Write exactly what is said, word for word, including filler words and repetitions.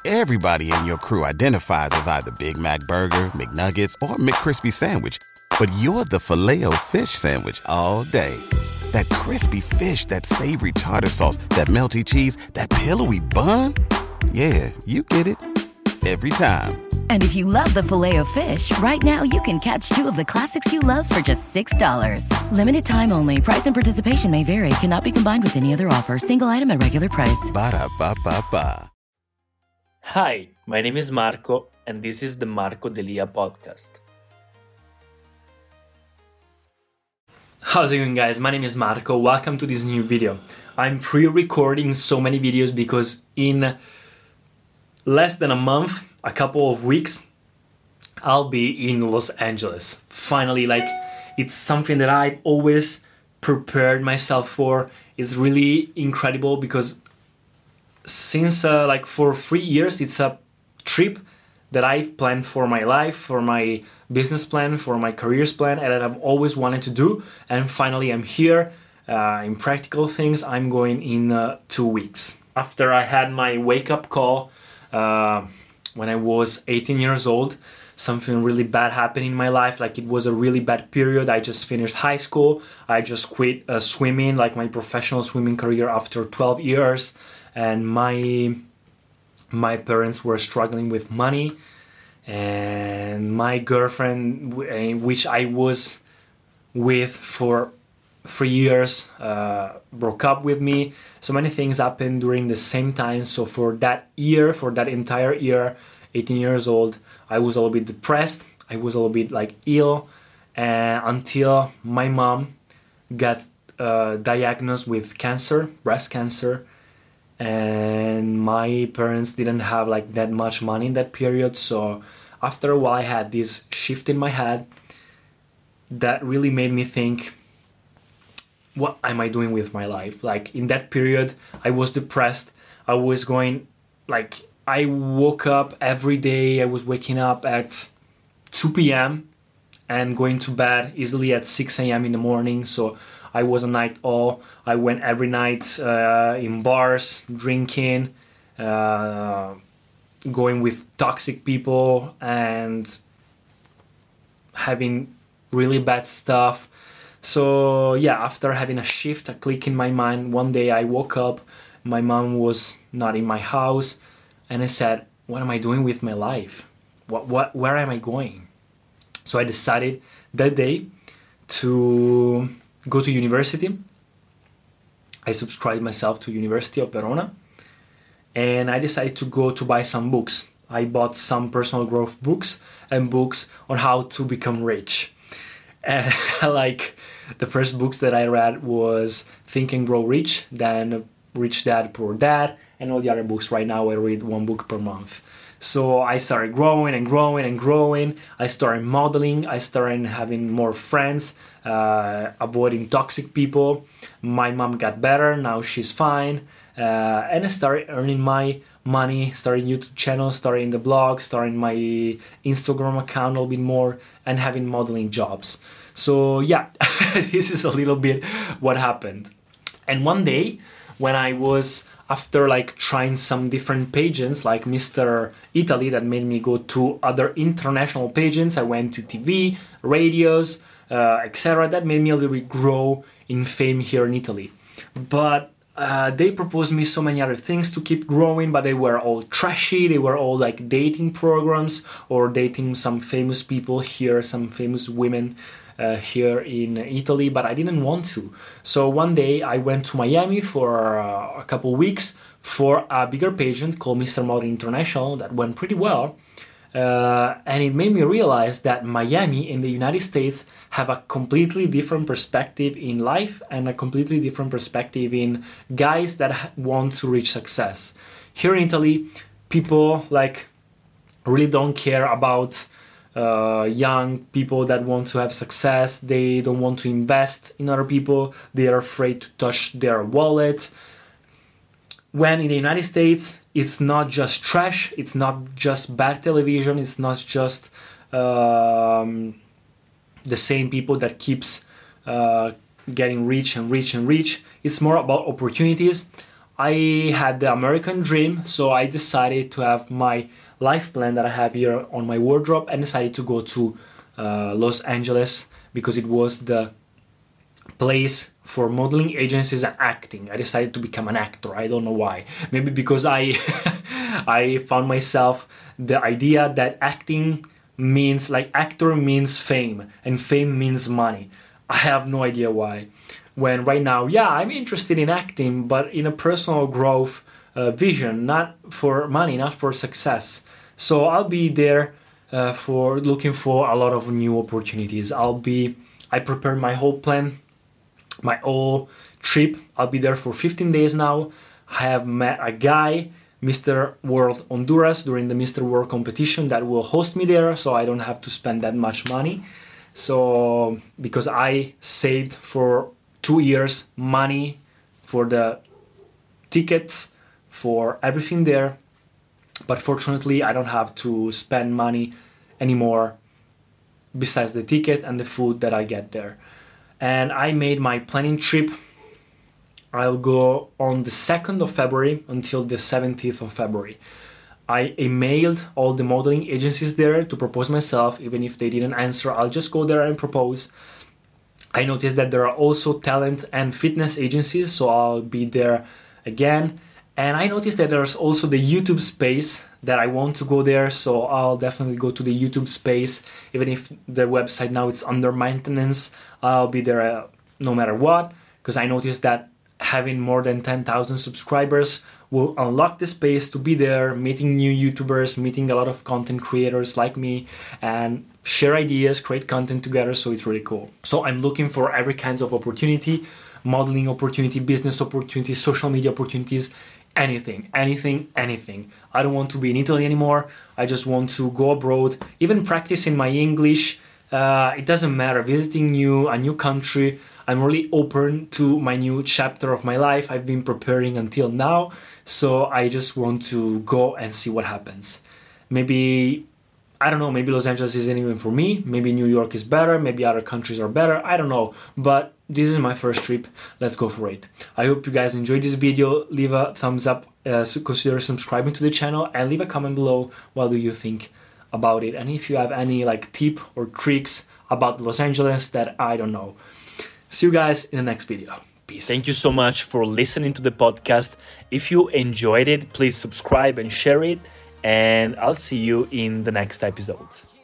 Everybody in your crew identifies as either Big Mac Burger, McNuggets, or McCrispy Sandwich. But you're the Filet-O-Fish Sandwich all day. That crispy fish, that savory tartar sauce, that melty cheese, that pillowy bun. Yeah, you get it. Every time. And if you love the Filet-O-Fish, right now you can catch two of the classics you love for just six dollars. Limited time only. Price and participation may vary. Cannot be combined with any other offer. Single item at regular price. Ba-da-ba-ba-ba. Hi, my name is Marco, and this is the Marco Delia podcast. How's it going, guys? My name is Marco. Welcome to this new video. I'm pre-recording so many videos because in less than a month, a couple of weeks, I'll be in Los Angeles. Finally, like, it's something that I've always prepared myself for. It's really incredible because since uh, like for three years, it's a trip that I've planned for my life, for my business plan, for my careers plan, and that I've always wanted to do. And finally, I'm here. Uh, in practical things, I'm going in uh, two weeks. After I had my wake-up call uh, when I was eighteen years old, something really bad happened in my life. Like, it was a really bad period. I just finished high school. I just quit uh, swimming, like my professional swimming career, after twelve years. And my my parents were struggling with money, and my girlfriend, which I was with for three years, uh, broke up with me. So many things happened during the same time. So for that year, for that entire year, eighteen years old, I was a little bit depressed. I was a little bit like ill, uh, until my mom got uh, diagnosed with cancer, breast cancer. And my parents didn't have like that much money in that period. So after a while, I had this shift in my head that really made me think, what am I doing with my life? Like, in that period, I was depressed. I was going, like, I woke up every day. I was waking up at two p.m. and going to bed easily at six a.m. in the morning. So I was a night owl. I went every night uh, in bars, drinking, uh, going with toxic people, and having really bad stuff. So yeah, after having a shift, a click in my mind, one day I woke up, my mom was not in my house, and I said, what am I doing with my life? What, what, where am I going? So I decided that day to go to university. I subscribed myself to University of Verona, and I decided to go to buy some books. I bought some personal growth books and books on how to become rich. And like, the first books that I read was Think and Grow Rich, then Rich Dad, Poor Dad, and all the other books. Right now I read one book per month. So I started growing and growing and growing. I started modeling. I started having more friends, uh, avoiding toxic people. My mom got better. Now she's fine. Uh, and I started earning my money, starting YouTube channel, starting the blog, starting my Instagram account a little bit more, and having modeling jobs. So yeah, this is a little bit what happened. And one day when I was, after like trying some different pageants like Mister Italy that made me go to other international pageants, I went to T V, radios, uh, et cetera. That made me a little bit grow in fame here in Italy. But uh, they proposed me so many other things to keep growing, but they were all trashy. They were all like dating programs or dating some famous people here, some famous women Uh, here in Italy, but I didn't want to. So one day I went to Miami for uh, a couple weeks for a bigger pageant called Mister Model International that went pretty well. Uh, and it made me realize that Miami in the United States have a completely different perspective in life and a completely different perspective in guys that want to reach success. Here in Italy, people like really don't care about Uh, young people that want to have success. They don't want to invest in other people. They are afraid to touch their wallet. When in the United States, it's not just trash, it's not just bad television, it's not just um, the same people that keeps uh, getting rich and rich and rich. It's more about opportunities. I had the American dream, so I decided to have my life plan that I have here on my wardrobe and decided to go to uh, Los Angeles because it was the place for modeling agencies and acting. I decided to become an actor. I don't know why. Maybe because I I found myself the idea that acting means, like, actor means fame and fame means money. I have no idea why. When right now, yeah, I'm interested in acting, but in a personal growth uh, vision, not for money, not for success. So I'll be there uh, for looking for a lot of new opportunities. I'll be, I prepared my whole plan, my whole trip. I'll be there for fifteen days now. I have met a guy, Mister World Honduras, during the Mister World competition that will host me there, so I don't have to spend that much money. So, because I saved for two years money for the tickets, for everything there, but fortunately I don't have to spend money anymore besides the ticket and the food that I get there. And I made my planning trip. I'll go on the second of February until the seventeenth of February. I emailed all the modeling agencies there to propose myself. Even if they didn't answer, I'll just go there and propose. I noticed that there are also talent and fitness agencies, so I'll be there again. And I noticed that there's also the YouTube space that I want to go there, so I'll definitely go to the YouTube space. Even if the website now is under maintenance, I'll be there uh, no matter what, because I noticed that having more than ten thousand subscribers will unlock the space to be there, meeting new YouTubers, meeting a lot of content creators like me, and share ideas, create content together, so it's really cool. So I'm looking for every kinds of opportunity, modeling opportunity, business opportunities, social media opportunities, anything, anything, anything. I don't want to be in Italy anymore. I just want to go abroad, even practicing my English. Uh, it doesn't matter, visiting new, a new country. I'm really open to my new chapter of my life. I've been preparing until now, so I just want to go and see what happens. Maybe, I don't know, maybe Los Angeles isn't even for me. Maybe New York is better. Maybe other countries are better. I don't know, but this is my first trip. Let's go for it. I hope you guys enjoyed this video. Leave a thumbs up, uh, consider subscribing to the channel, and leave a comment below. What do you think about it? And if you have any like tip or tricks about Los Angeles that I don't know. See you guys in the next video. Peace. Thank you so much for listening to the podcast. If you enjoyed it, please subscribe and share it. And I'll see you in the next episodes.